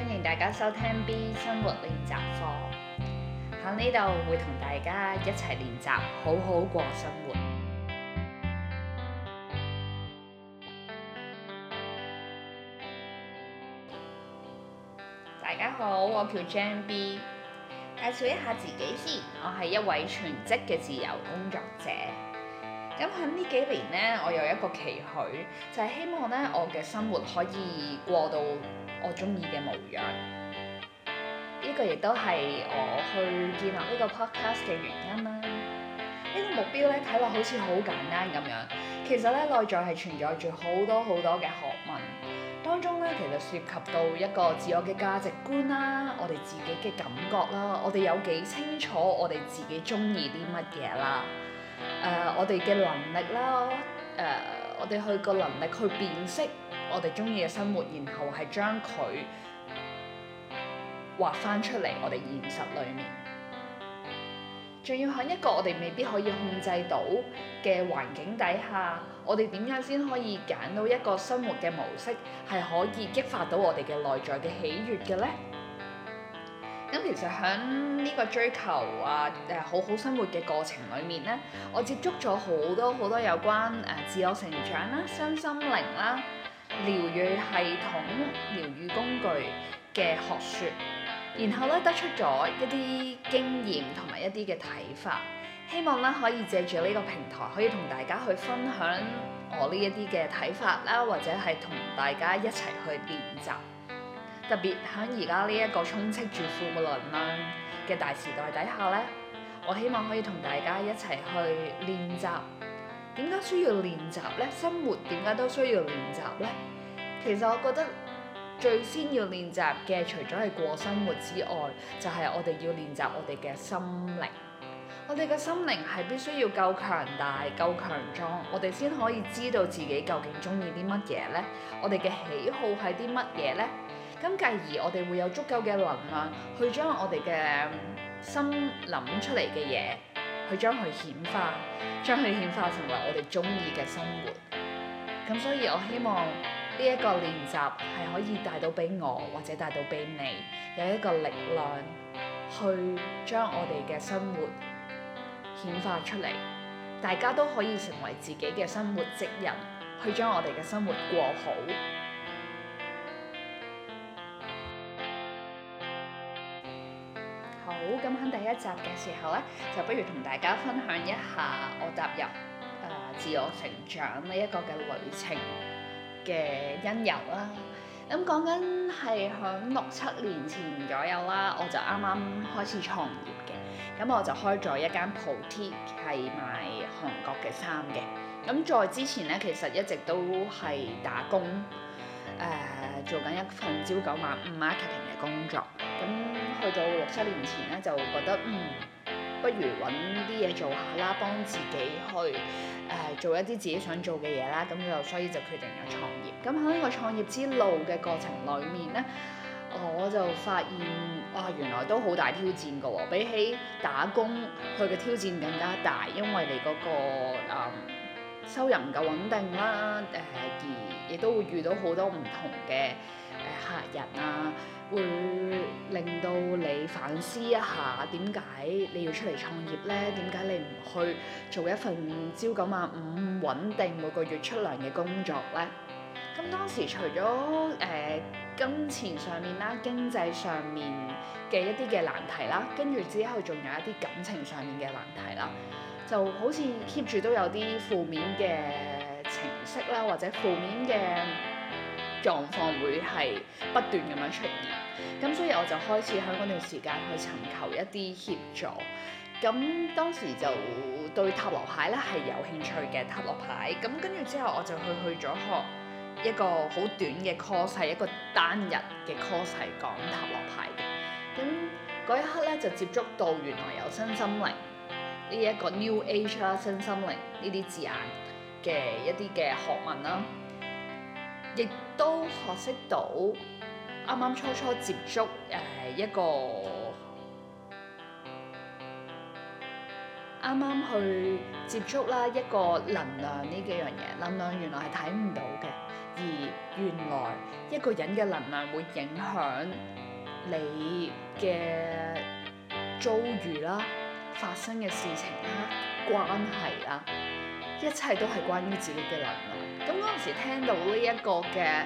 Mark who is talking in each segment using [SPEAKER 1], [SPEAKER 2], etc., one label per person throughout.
[SPEAKER 1] 歡迎大家收聽 B 生活練習課，喺呢度會同大家一齊練習好好過生活。大家好，我叫 Jam B， 介紹一下自己先，我係一位全職嘅自由工作者。咁喺呢幾年呢，我有一個期許，就係希望呢我嘅生活可以過到我中意嘅模樣。呢個亦都係我去建立呢個 podcast 嘅原因啦。呢個目標咧睇落好似好簡單咁樣，其實咧內在係存在住好多嘅學問，當中咧其實涉及到一個自我嘅價值觀啦，我哋自己嘅感覺啦，我哋有幾清楚我哋自己中意啲乜嘢啦，我哋嘅能力啦，我哋去個能力去辨識我哋中意嘅生活，然後係將佢畫翻出嚟我哋現實裡面，仲要喺一個我哋未必可以控制到嘅環境底下，我哋點樣先可以揀到一個生活嘅模式係可以激發到我哋嘅內在嘅喜悅嘅呢？咁其實喺呢個追求好好生活嘅過程裡面呢，我接觸咗好多有關自我成長啦、身心靈啦、療癒系統、療癒工具嘅學說，然後咧得出咗一啲經驗同埋一啲嘅睇法，希望咧可以借住呢個平台可以同大家去分享我呢一啲嘅睇法啦，或者係同大家一齊去練習。特別喺而家呢一個充斥住負能量嘅大時代底下咧，我希望可以同大家一齊去練習。點解需要練習呢？生活點解都需要練習呢？其實我覺得最先要練習嘅，除咗係過生活之外，就係我哋要練習我哋嘅心靈。我哋嘅心靈係必須要夠強大、夠強壯，我哋先可以知道自己究竟中意啲乜嘢呢？我哋嘅喜好係啲乜嘢呢？咁繼而我哋會有足夠嘅能量去將我哋嘅心諗出嚟嘅嘢，去將佢顯化，將佢顯化成為我哋中意嘅生活。咁所以我希望呢一個練習係可以帶到俾我，或者帶到俾你，有一個力量去將我哋嘅生活顯化出嚟，大家都可以成為自己嘅生活職人，去將我哋嘅生活過好。好，咁喺第一集嘅時候呢，就不如同大家分享一下我踏入自我成長呢一個嘅旅程嘅因由啦。咁講緊係響6-7年前左右啦，我就啱啱開始創業嘅。咁我就開咗一間鋪貼，係賣韓國嘅衫嘅。咁在之前呢，其實一直都係打工，做緊一份朝九晚五 marketing 嘅工作。咁去到6-7年前咧，就覺得不如揾啲嘢做下啦，幫自己去做一啲自己想做嘅嘢啦。咁所以就決定咗創業。咁喺呢個創業之路嘅過程裡面咧，我就發現原來都好大挑戰㗎喎。比起打工，佢嘅挑戰更加大，因為你嗰個收入唔夠穩定啦，而亦都會遇到好多唔同嘅客人啊，會令到你反思一下點解你要出嚟創業呢？點解你唔去做一份朝九晚五穩定每個月出糧嘅工作呢？咁當時除咗金錢上面啦、經濟上面嘅一啲嘅難題啦，跟住之後仲有一啲感情上面嘅難題啦，就好似 keep 住都有啲負面嘅情緒啦，或者負面嘅狀況會係不斷咁樣出現。咁所以我就開始喺嗰段時間去尋求一啲協助。咁當時就對塔羅牌咧係有興趣嘅，塔羅牌。咁跟住之後我就去咗學一個好短嘅 course， 係一個單日嘅 course， 係講塔羅牌嘅。咁嗰一刻咧就接觸到原來有身心靈呢一個 New Age 啦，身心靈呢啲字眼嘅一啲嘅學問啦，亦都學識到啱啱初接觸一個啱啱去接觸啦一個能量呢幾樣嘢，能量原來係睇唔到嘅，而而原來一個人嘅能量會影響你嘅遭遇啦、發生嘅事情啦、關係啦，一切都係關於自己嘅能量。咁嗰陣時聽到呢一個嘅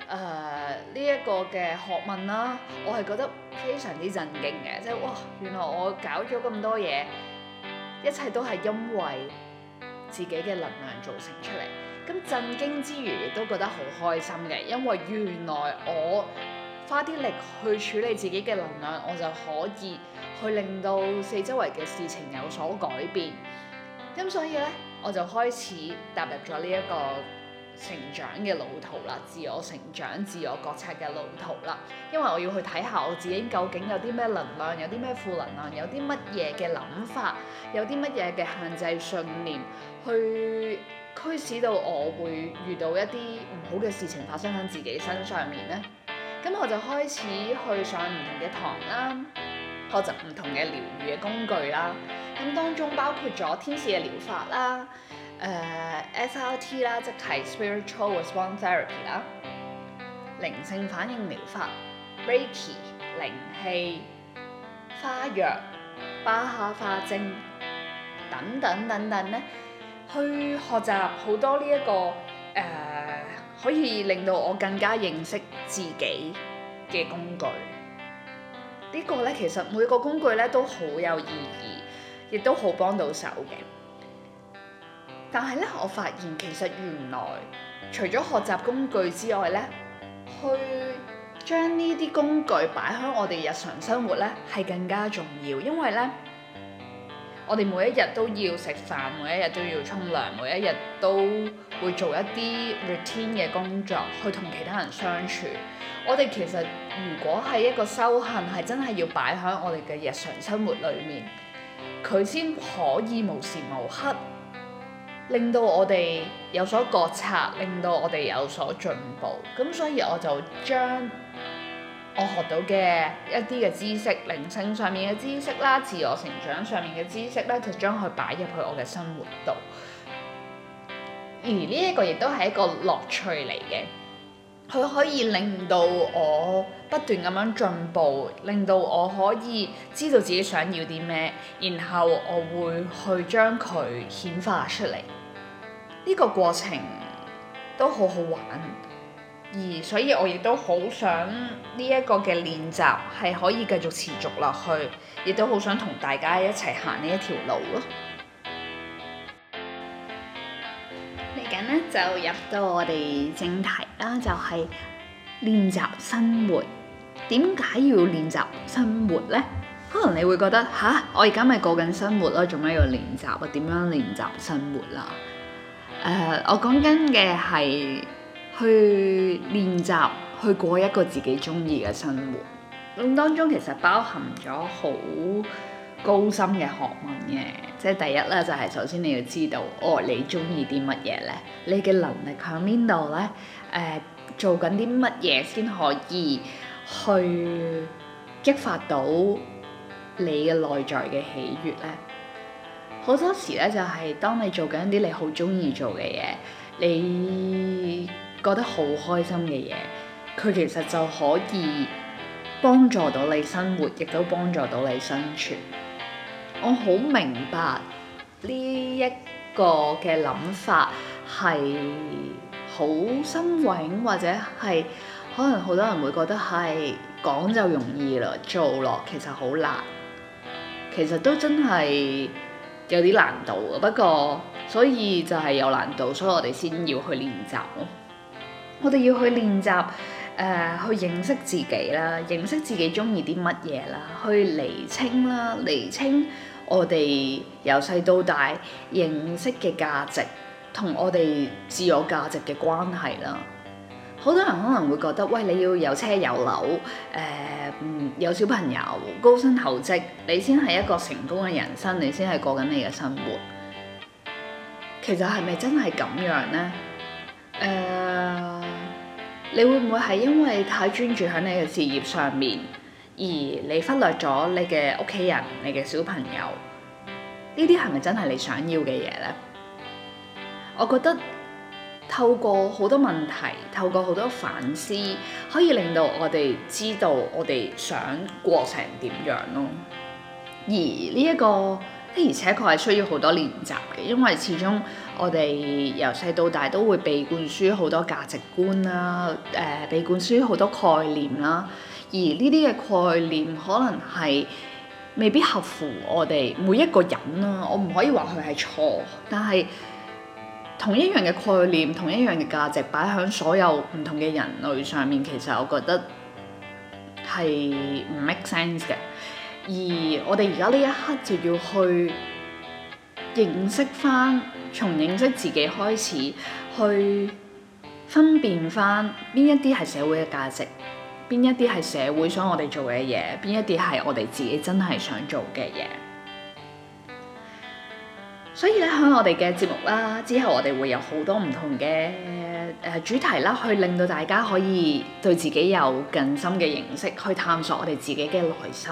[SPEAKER 1] 學問啦，我係覺得非常之震驚嘅，即係哇，原來我搞咗咁多嘢，一切都係因為自己嘅能量造成出嚟。咁震驚之餘，亦都覺得好開心嘅，因為原來我花啲力去處理自己嘅能量，我就可以去令到四周圍嘅事情有所改變。咁所以咧，我就開始踏入咗呢一個成長嘅路途啦，自我成長、自我覺察嘅路途啦。因為我要去睇下我自己究竟有啲咩能量，有啲咩負能量，有啲乜嘢嘅諗法，有啲乜嘢嘅限制信念，去驅使到我會遇到一啲唔好嘅事情發生喺自己身上面咧。咁我就開始去上唔同嘅堂啦，學習唔同嘅療癒嘅工具啦。咁當中包括咗天使嘅療法啦、SRT 啦，即係 Spiritual Response Therapy 啦、靈性反應療法、Reiki、靈氣、花藥、巴哈花精等等等等咧，去學習好多呢一個可以令到我更加認識自己嘅工具。呢個咧，其實每個工具咧都好有意義，亦都好幫到手嘅。但係咧，我發現其實原來除咗學習工具之外咧，去將呢啲工具擺喺我哋日常生活咧係更加重要，因為咧，我哋每一日都要食飯，每一日都要沖涼，每一日都會做一啲 routine 嘅工作，去同其他人相處。我哋其實如果係一個修行，係真係要擺喺我哋嘅日常生活裏面，佢先可以無時無刻令到我哋有所覺察，令到我哋有所進步。咁所以我就將我學到嘅一啲嘅知識，靈性上面嘅知識啦，自我成長上面嘅知識咧，就將佢擺入去我嘅生活度。而呢一個亦都係一個樂趣嚟嘅，佢可以令到我不斷咁樣進步，令到我可以知道自己想要啲咩，然後我會去將佢顯化出嚟。呢個過程都好好玩。而所以我亦都好想呢一個嘅練習係可以繼續持續落去，亦都好想同大家一齊行呢一條路咯。嚟緊咧就入到我哋正題啦，就係練習生活。點解要練習生活呢？可能你會覺得吓，我而家咪過緊生活咯，做咩要練習啊？點樣練習生活啦？我講緊嘅係去練習去過一個自己中意嘅生活，咁當中其實包含咗好高深嘅學問嘅。即係第一咧，就係首先你要知道，你中意啲乜嘢咧？你嘅能力喺邊度咧？做緊啲乜嘢先可以去激發到你嘅內在嘅喜悅咧？好多時咧，就係當你做緊一啲你好中意做嘅嘢，你覺得好開心嘅嘢，佢其實就可以幫助到你生活，亦都幫助到你生存。我好明白呢一個嘅諗法係好新穎，或者係可能好多人會覺得係講就容易啦，做落其實好難。其實都真係有啲難度嘅，不過所以就係有難度，所以我哋先要去練習咯。我哋要去練習，去認識自己啦，認識自己中意啲乜嘢啦，去釐清啦，釐清我哋由細到大認識嘅價值同我哋自我價值嘅關係啦。好多人可能會覺得，喂，你要有車有樓，有小朋友，高薪厚職，你先係一個成功嘅人生，你先係過緊你嘅生活。其實係咪真係咁樣呢？你會唔會係因為太專注喺你嘅事業上面，而你忽略咗你嘅屋企人、你嘅小朋友？呢啲係咪真係你想要嘅嘢呢？我覺得透過好多問題，透過好多反思，可以令到我哋知道我哋想過成點樣咯。而呢一個的而且確係需要好多練習嘅，因為始終我哋由細到大都會被灌輸好多價值觀啦，被灌輸好多概念啦。而呢啲嘅概念可能係未必合乎我哋每一個人啦。我唔可以話佢係錯，但係同一樣嘅概念、同一樣嘅價值擺喺所有唔同嘅人類上面，其實我覺得係唔 make sense 嘅。而我哋而家呢一刻就要去認識返，從認識自己開始，去分辨返邊一啲係社會嘅價值，邊一啲係社會想我哋做嘅嘢，邊一啲係我哋自己真係想做嘅嘢。所以咧，喺我哋嘅節目啦，之後我哋會有好多唔同嘅主題啦，去令到大家可以對自己有更深嘅認識，去探索我哋自己嘅內心。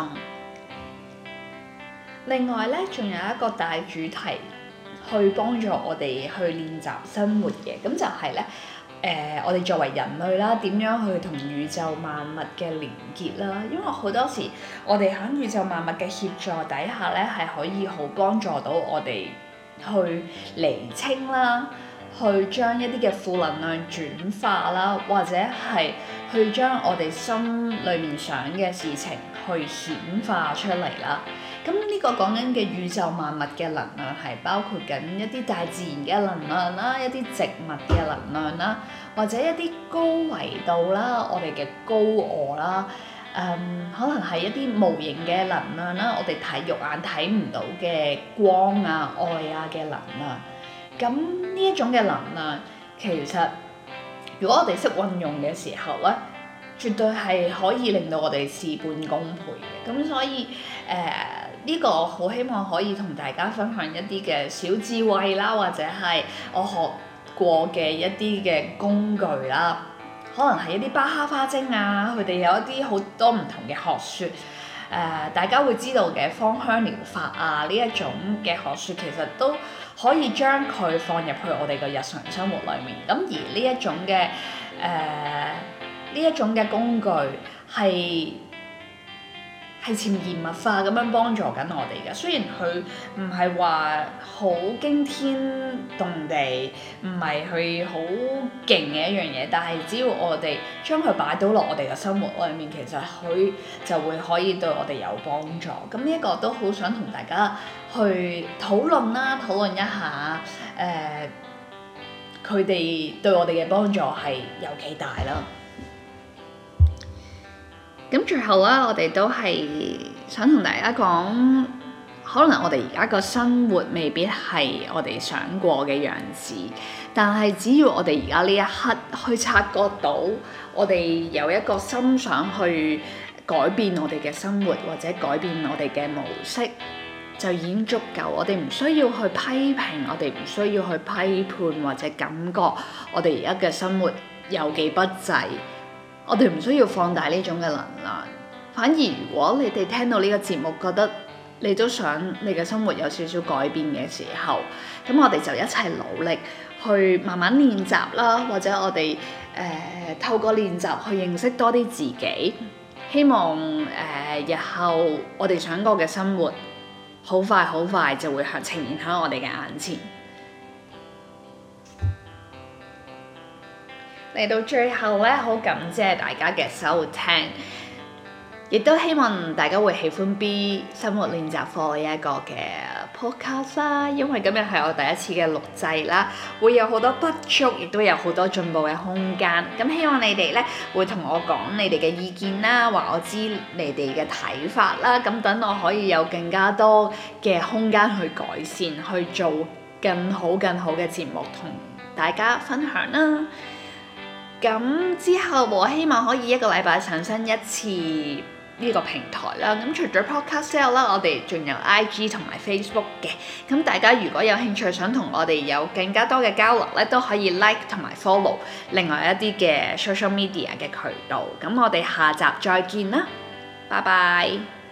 [SPEAKER 1] 另外咧，仲有一個大主題去幫助我哋去練習生活嘅，咁就係咧，我哋作為人類啦，點樣去同宇宙萬物嘅連結啦？因為好多時我哋喺宇宙萬物嘅協助底下咧，係可以好幫助到我哋去釐清啦，去將一啲嘅負能量轉化啦，或者係去將我哋心裏面想嘅事情去顯化出嚟啦。咁呢個講緊嘅宇宙萬物嘅能量係包括緊一啲大自然嘅能量啦，一啲植物嘅能量啦，或者一啲高維度啦，我哋嘅高我啦，可能係一啲無形嘅能量啦，我哋睇肉眼睇唔到嘅光啊、愛啊嘅能量。咁呢一種嘅能量，其實如果我哋識運用嘅時候咧，絕對係可以令到我哋事半功倍嘅。咁所以呢個好希望可以同大家分享一啲嘅小智慧啦，或者係我學過嘅一啲嘅工具啦，可能係一啲巴哈花精啊，佢哋有一啲好多唔同嘅學説，大家會知道嘅芳香療法啊，呢一種嘅學説其實都可以將佢放入去我哋嘅日常生活裡面。咁而呢一種嘅工具係潛移默化咁樣幫助緊我哋嘅，雖然佢唔係話好驚天動地，唔係佢好勁嘅一樣嘢，但係只要我哋將佢擺到落我哋嘅生活裏面，其實佢就會可以對我哋有幫助。咁呢一個都好想同大家去討論一下，佢哋對我哋嘅幫助係有幾大啦。咁最後啦，我哋都係想同大家講，可能我哋而家個生活未必係我哋想過嘅樣子，但係只要我哋而家呢一刻去察覺到，我哋有一個心想去改變我哋嘅生活，或者改變我哋嘅模式，就已經足夠。我哋唔需要去批評，我哋唔需要去批判或者感覺我哋而家嘅生活有幾不濟。我哋唔需要放大呢種嘅能量，反而如果你哋聽到呢個節目，覺得你都想你嘅生活有少少改變嘅時候，咁我哋就一齊努力去慢慢練習啦，或者我哋透過練習去認識多啲自己，希望日後我哋想過嘅生活，好快就會呈現喺我哋嘅眼前。嚟到最後咧，好感謝大家嘅收聽，亦都希望大家會喜歡 B 生活練習課呢一個嘅 podcast 啦。因為今日係我第一次嘅錄製啦，會有好多不足，亦都有好多進步嘅空間。咁希望你哋咧會同我講你哋嘅意見啦，話我知你哋嘅睇法啦。咁等我可以有更加多嘅空間去改善，去做更好嘅節目同大家分享啦。咁之後我希望可以一個禮拜上新一次呢個平台啦。咁除咗 podcast 之後啦，我哋仲有 IG 同埋 Facebook 嘅。咁大家如果有興趣想同我哋有更加多嘅交流咧，都可以 like 同埋 follow 另外一啲嘅 social media 嘅渠道。咁我哋下集再見啦，拜拜。